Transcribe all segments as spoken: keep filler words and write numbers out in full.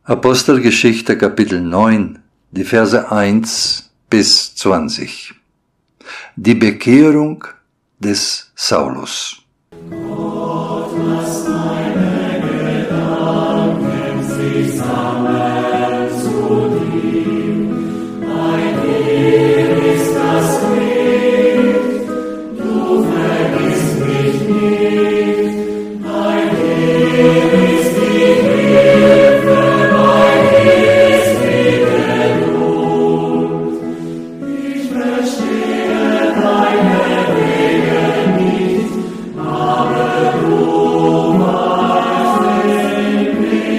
Apostelgeschichte Kapitel neun, die Verse eins bis zwanzig. Die Bekehrung des Saulus. Gott, lass meine Gedanken sich sammeln zu dir. Ein Heer ist das Licht, du vergisst mich nicht. Ein Heer ist die Hilfe, mein Heer ist die Geduld. Ich verstehe deine Wege nicht, aber du weißt den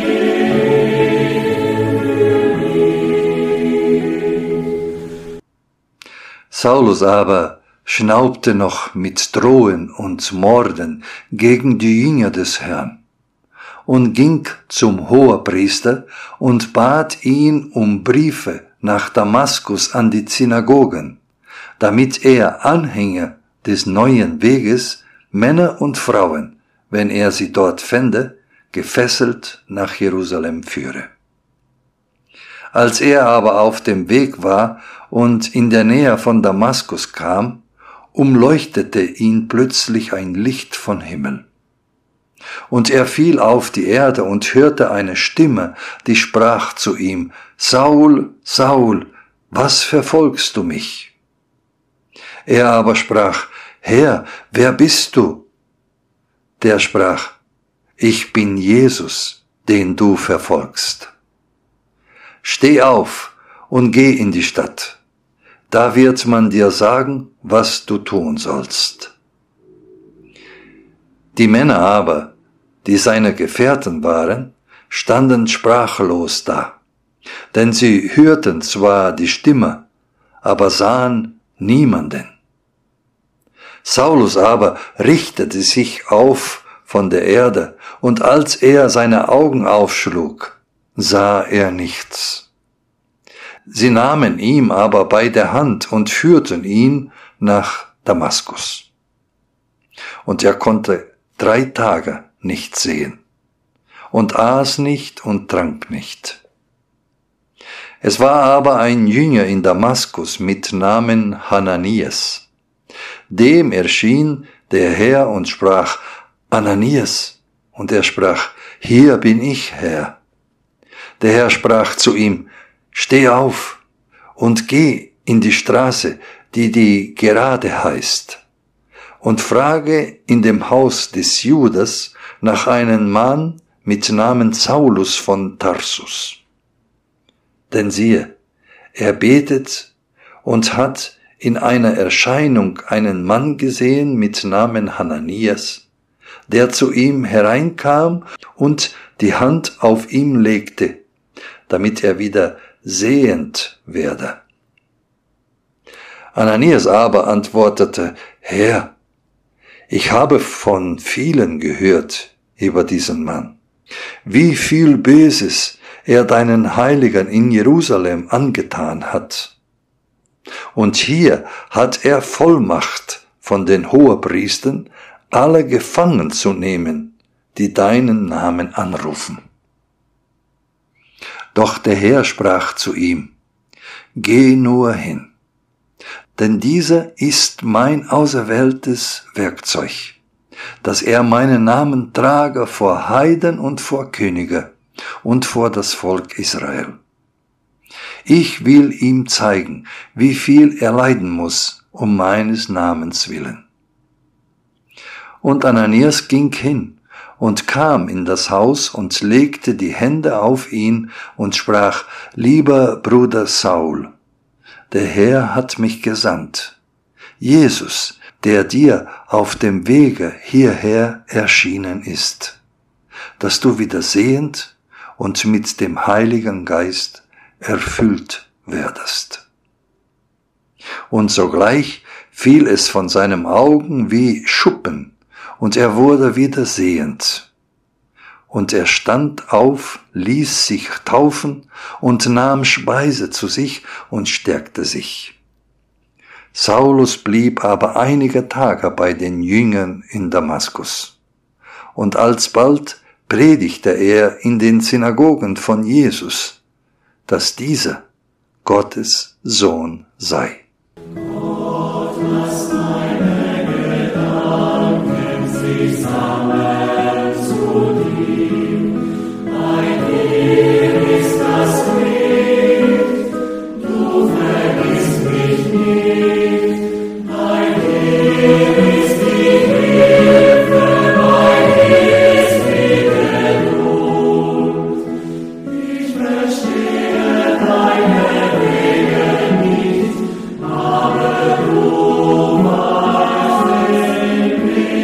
Weg. Saulus aber schnaubte noch mit Drohen und Morden gegen die Jünger des Herrn und ging zum Hohepriester und bat ihn um Briefe nach Damaskus an die Synagogen, damit er Anhänger des neuen Weges, Männer und Frauen, wenn er sie dort fände, gefesselt nach Jerusalem führe. Als er aber auf dem Weg war und in der Nähe von Damaskus kam, umleuchtete ihn plötzlich ein Licht von Himmel. Und er fiel auf die Erde und hörte eine Stimme, die sprach zu ihm: Saul, Saul, was verfolgst du mich? Er aber sprach: Herr, wer bist du? Der sprach: Ich bin Jesus, den du verfolgst. Steh auf und geh in die Stadt. Da wird man dir sagen, was du tun sollst. Die Männer aber, die seine Gefährten waren, standen sprachlos da, denn sie hörten zwar die Stimme, aber sahen niemanden. Saulus aber richtete sich auf von der Erde, und als er seine Augen aufschlug, sah er nichts. Sie nahmen ihn aber bei der Hand und führten ihn nach Damaskus. Und er konnte drei Tage nicht sehen und aß nicht und trank nicht. Es war aber ein Jünger in Damaskus mit Namen Hananias. Dem erschien der Herr und sprach: Ananias. Und er sprach: Hier bin ich, Herr. Der Herr sprach zu ihm: Steh auf und geh in die Straße, die die Gerade heißt, und frage in dem Haus des Judas nach einem Mann mit Namen Saulus von Tarsus. Denn siehe, er betet und hat in einer Erscheinung einen Mann gesehen mit Namen Hananias, der zu ihm hereinkam und die Hand auf ihm legte, damit er wieder sehend werde. Ananias aber antwortete: Herr, ich habe von vielen gehört über diesen Mann, wie viel Böses er deinen Heiligen in Jerusalem angetan hat. Und hier hat er Vollmacht von den Hohepriestern, alle gefangen zu nehmen, die deinen Namen anrufen. Doch der Herr sprach zu ihm: Geh nur hin, denn dieser ist mein auserwähltes Werkzeug, dass er meinen Namen trage vor Heiden und vor Könige und vor das Volk Israel. Ich will ihm zeigen, wie viel er leiden muss, um meines Namens willen. Und Ananias ging hin und kam in das Haus und legte die Hände auf ihn und sprach: Lieber Bruder Saul, der Herr hat mich gesandt, Jesus, der dir auf dem Wege hierher erschienen ist, dass du wieder sehend und mit dem Heiligen Geist erfüllt werdest. Und sogleich fiel es von seinen Augen wie Schuppen, und er wurde wieder sehend. Und er stand auf, ließ sich taufen und nahm Speise zu sich und stärkte sich. Saulus blieb aber einige Tage bei den Jüngern in Damaskus. Und alsbald predigte er in den Synagogen von Jesus, dass dieser Gottes Sohn sei. Gott, lass deine Gedanken sich sammeln zu dir. Ein Dir ist das Licht, du vergisst mich nicht. Ein Dir ist die Hilfe, mein Dir ist die Geduld. Ich verstehe deine Wege nicht, aber du weißt den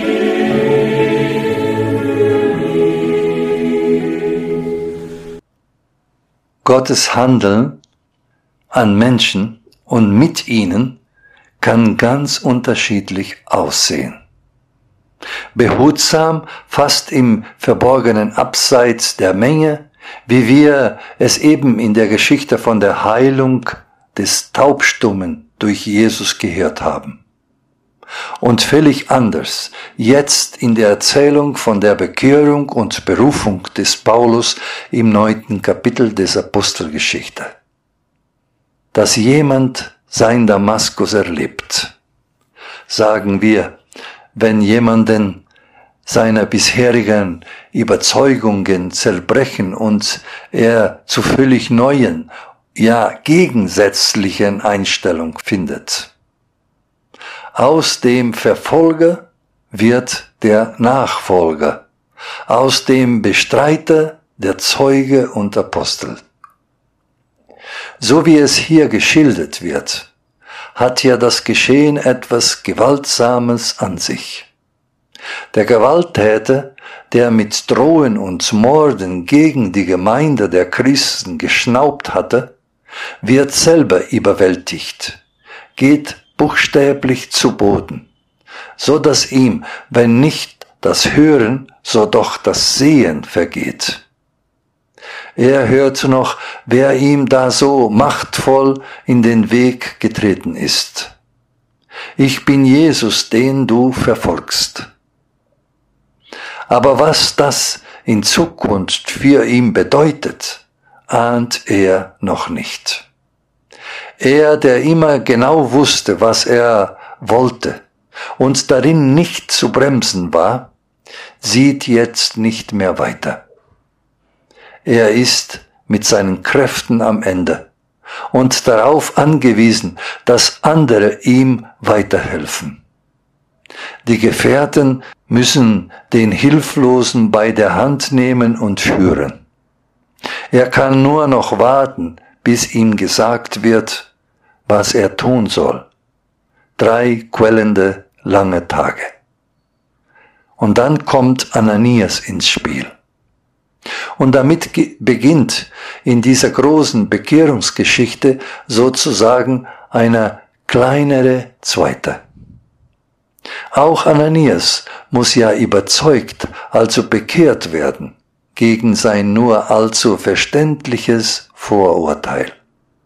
Weg. Gottes Handeln an Menschen und mit ihnen kann ganz unterschiedlich aussehen. Behutsam, fast im verborgenen Abseits der Menge, wie wir es eben in der Geschichte von der Heilung des Taubstummen durch Jesus gehört haben. Und völlig anders jetzt in der Erzählung von der Bekehrung und Berufung des Paulus im neunten Kapitel des Apostelgeschichte. Dass jemand sein Damaskus erlebt, sagen wir, wenn jemanden seine bisherigen Überzeugungen zerbrechen und er zu völlig neuen, ja gegensätzlichen Einstellung findet. Aus dem Verfolger wird der Nachfolger, aus dem Bestreiter der Zeuge und Apostel. So wie es hier geschildert wird, hat ja das Geschehen etwas Gewaltsames an sich. Der Gewalttäter, der mit Drohen und Morden gegen die Gemeinde der Christen geschnaubt hatte, wird selber überwältigt, geht buchstäblich zu Boden, so dass ihm, wenn nicht das Hören, so doch das Sehen vergeht. Er hört noch, wer ihm da so machtvoll in den Weg getreten ist. Ich bin Jesus, den du verfolgst. Aber was das in Zukunft für ihn bedeutet, ahnt er noch nicht. Er, der immer genau wusste, was er wollte und darin nicht zu bremsen war, sieht jetzt nicht mehr weiter. Er ist mit seinen Kräften am Ende und darauf angewiesen, dass andere ihm weiterhelfen. Die Gefährten müssen den Hilflosen bei der Hand nehmen und führen. Er kann nur noch warten, bis ihm gesagt wird, was er tun soll. Drei quellende, lange Tage. Und dann kommt Ananias ins Spiel. Und damit beginnt in dieser großen Bekehrungsgeschichte sozusagen eine kleinere zweite. Auch Ananias muss ja überzeugt, also bekehrt werden, gegen sein nur allzu verständliches Vorurteil.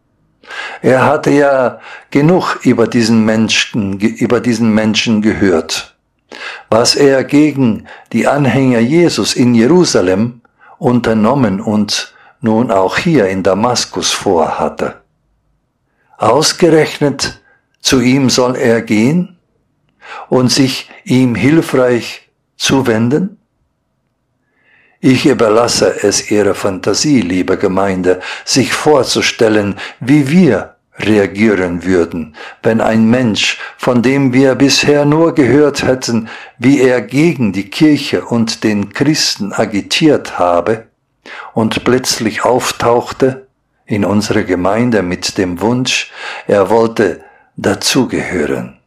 Er hatte ja genug über diesen Menschen, über diesen Menschen gehört, was er gegen die Anhänger Jesus in Jerusalem unternommen und nun auch hier in Damaskus vorhatte. Ausgerechnet zu ihm soll er gehen und sich ihm hilfreich zuwenden? Ich überlasse es Ihrer Fantasie, liebe Gemeinde, sich vorzustellen, wie wir reagieren würden, wenn ein Mensch, von dem wir bisher nur gehört hätten, wie er gegen die Kirche und den Christen agitiert habe und plötzlich auftauchte in unserer Gemeinde mit dem Wunsch, er wollte dazugehören.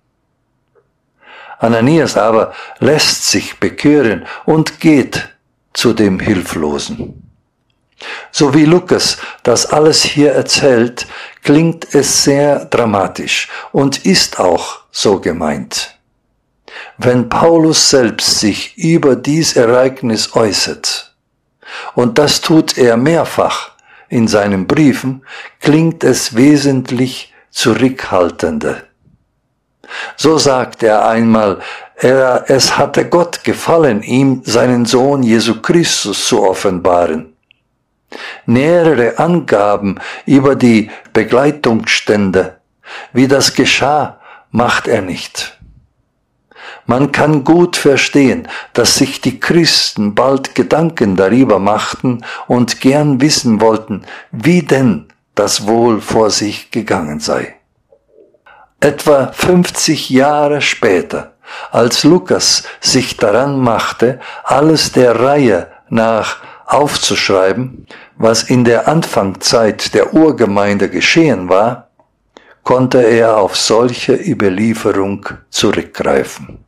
Ananias aber lässt sich bekehren und geht zu dem Hilflosen. So wie Lukas das alles hier erzählt, klingt es sehr dramatisch und ist auch so gemeint. Wenn Paulus selbst sich über dies Ereignis äußert, und das tut er mehrfach in seinen Briefen, klingt es wesentlich zurückhaltender. So sagt er einmal, er, es hatte Gott gefallen, ihm seinen Sohn Jesu Christus zu offenbaren. Nähere Angaben über die Begleitungsstände, wie das geschah, macht er nicht. Man kann gut verstehen, dass sich die Christen bald Gedanken darüber machten und gern wissen wollten, wie denn das wohl vor sich gegangen sei. Etwa fünfzig Jahre später, als Lukas sich daran machte, alles der Reihe nach aufzuschreiben, was in der Anfangszeit der Urgemeinde geschehen war, konnte er auf solche Überlieferung zurückgreifen.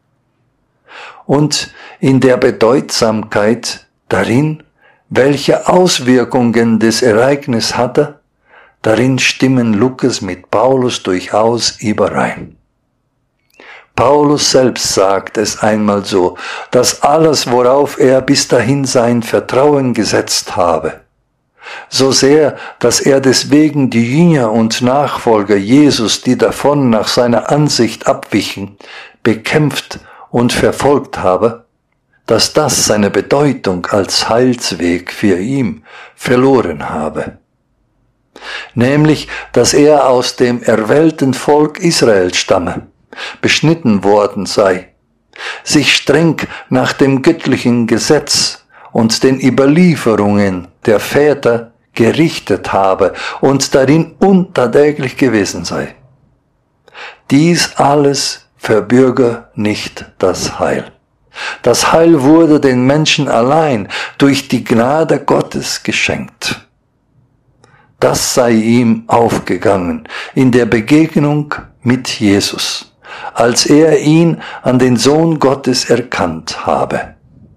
Und in der Bedeutsamkeit darin, welche Auswirkungen das Ereignis hatte, darin stimmen Lukas mit Paulus durchaus überein. Paulus selbst sagt es einmal so, dass alles, worauf er bis dahin sein Vertrauen gesetzt habe, so sehr, dass er deswegen die Jünger und Nachfolger Jesus, die davon nach seiner Ansicht abwichen, bekämpft und verfolgt habe, dass das seine Bedeutung als Heilsweg für ihn verloren habe. Nämlich, dass er aus dem erwählten Volk Israel stamme, beschnitten worden sei, sich streng nach dem göttlichen Gesetz und den Überlieferungen der Väter gerichtet habe und darin untadäglich gewesen sei. Dies alles verbürge nicht das Heil. Das Heil wurde den Menschen allein durch die Gnade Gottes geschenkt. Das sei ihm aufgegangen in der Begegnung mit Jesus, als er ihn an den Sohn Gottes erkannt habe.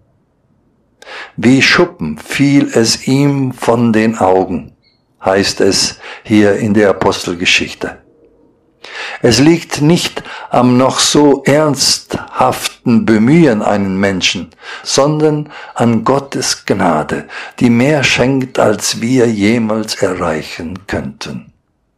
Wie Schuppen fiel es ihm von den Augen, heißt es hier in der Apostelgeschichte. Es liegt nicht am noch so ernsthaften Bemühen einen Menschen, sondern an Gottes Gnade, die mehr schenkt, als wir jemals erreichen könnten.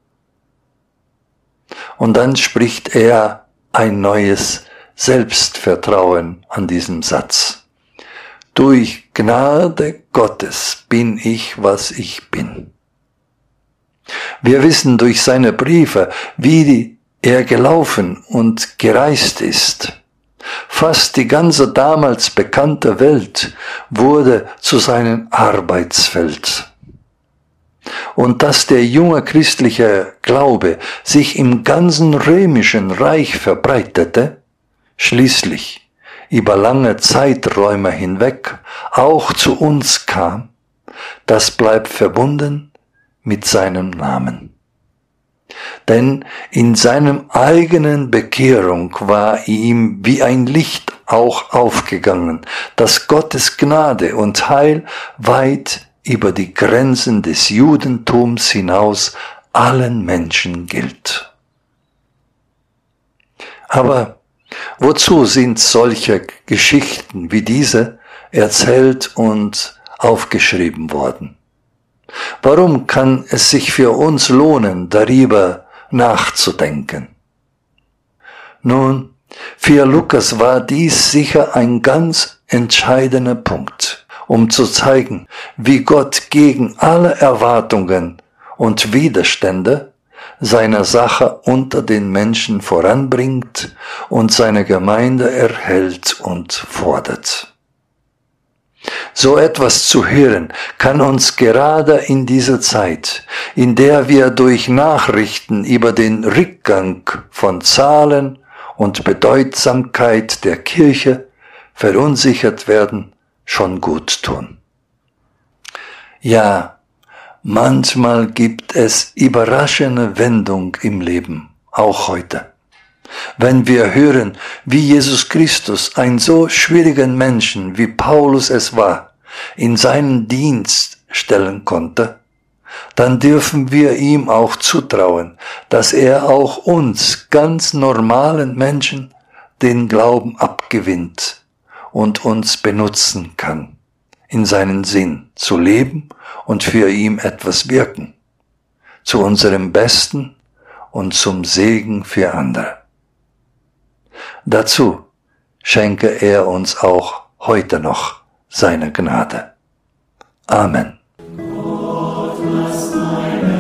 Und dann spricht er ein neues Selbstvertrauen an diesem Satz. Durch Gnade Gottes bin ich, was ich bin. Wir wissen durch seine Briefe, wie er gelaufen und gereist ist. Fast die ganze damals bekannte Welt wurde zu seinem Arbeitsfeld. Und dass der junge christliche Glaube sich im ganzen römischen Reich verbreitete, schließlich über lange Zeiträume hinweg auch zu uns kam, das bleibt verbunden mit seinem Namen. Denn in seinem eigenen Bekehrung war ihm wie ein Licht auch aufgegangen, dass Gottes Gnade und Heil weit über die Grenzen des Judentums hinaus allen Menschen gilt. Aber wozu sind solche Geschichten wie diese erzählt und aufgeschrieben worden? Warum kann es sich für uns lohnen, darüber nachzudenken? Nun, für Lukas war dies sicher ein ganz entscheidender Punkt, um zu zeigen, wie Gott gegen alle Erwartungen und Widerstände seine Sache unter den Menschen voranbringt und seine Gemeinde erhält und fordert. So etwas zu hören, kann uns gerade in dieser Zeit, in der wir durch Nachrichten über den Rückgang von Zahlen und Bedeutsamkeit der Kirche verunsichert werden, schon gut tun. Ja, manchmal gibt es überraschende Wendung im Leben, auch heute. Wenn wir hören, wie Jesus Christus einen so schwierigen Menschen, wie Paulus es war, in seinen Dienst stellen konnte, dann dürfen wir ihm auch zutrauen, dass er auch uns ganz normalen Menschen den Glauben abgewinnt und uns benutzen kann, in seinen Sinn zu leben und für ihn etwas wirken, zu unserem Besten und zum Segen für andere. Dazu schenke er uns auch heute noch seine Gnade. Amen. Gott, lass deine